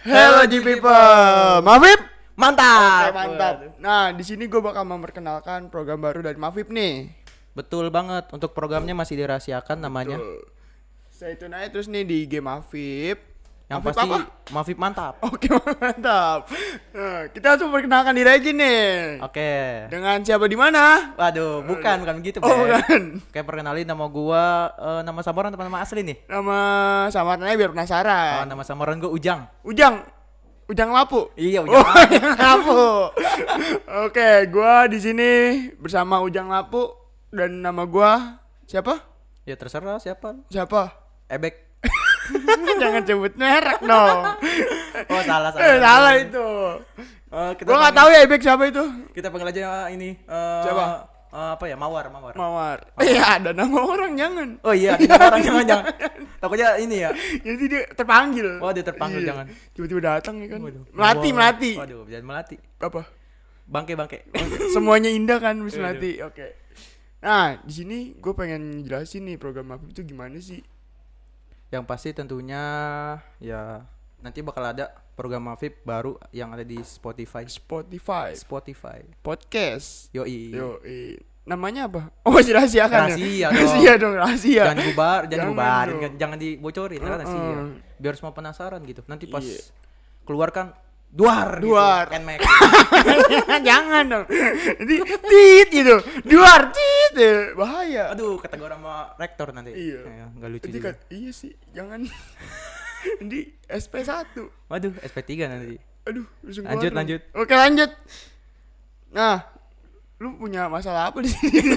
Hello G people, Mafip, Mantap. oke mantap. Nah di sini gue bakal memperkenalkan program baru dari Mafip nih. Betul banget. Untuk programnya masih dirahasiakan namanya. Tuh. Stay tune aja terus nih di game Mafip. Yang Mafip pasti apa? Mafip mantap. Oke mantap. Nah, kita langsung perkenalkan diri aja nih. Oke. Dengan siapa di mana? Waduh, bukan begitu, Oh Beb. bukan. Kayak perkenalin nama gua, nama samaran atau nama asli nih? Nama samarannya biar Oh, penasaran. nama samaran gua Ujang. Ujang Lapu. Iya, Oh, Ujang. Ujang Lapu. Oke, gua di sini bersama Ujang Lapu dan nama gua siapa? Ya terserah siapa. Siapa? Ebek. Jangan sebut merek dong. Oh, salah. Salah itu. Kita Gua nggak panggil- tahu ya Ebek siapa itu. Kita panggil aja ini. Siapa? Apa ya? Mawar. Mawar. Iya, ada nama orang jangan. Oh iya, ada nama orang jangan. Takutnya ini ya. Jadi dia terpanggil. Oh, dia terpanggil, Iya. jangan. Tiba-tiba datang ya kan. Waduh. Melati. Waduh, jangan melati. Apa? Bangke. Semuanya indah kan bis Waduh. melati. Oke. Nah, di sini gue pengen jelasin nih program Mafip itu gimana sih? Yang pasti tentunya ya nanti bakal ada program Mafip baru yang ada di Spotify. Spotify, podcast. Yoi. Namanya apa? Oh, masih rahasiakan. Rahasia dong. Rahasia dong, rahasia. Jangan Jangan dibubarin, dong. jangan dibocorin kan rahasia. Biar semua penasaran gitu. Nanti pas Iya. keluarkan duar. Duar. Gitu. Nmax. Jangan dong. Nanti tit gitu. Duar tit. Bahaya. Aduh, kata gua sama rektor nanti. Iya. Ya, nggak lucu Nanti juga. iya sih, jangan. Nanti SP1. Waduh, SP3 nanti. Aduh, langsung Lanjut, keluar dong. lanjut. Oke, lanjut. Nah, lu punya masalah apa di sini?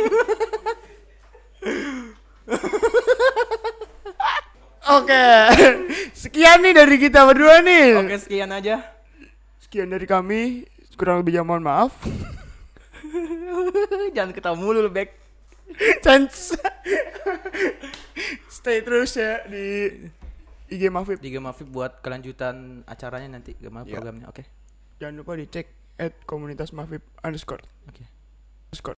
Oke, sekian nih dari kita berdua nih. Oke, sekian aja. Sekian dari kami. Kurang lebihnya mohon maaf. Jangan ketawa mulu lu, Bek. Chance. Stay terus ya di IG Mafip. 3 Mafip buat kelanjutan acaranya nanti, gimana Ya. programnya. Oke. Jangan lupa dicek @komunitasmafip_. Oke.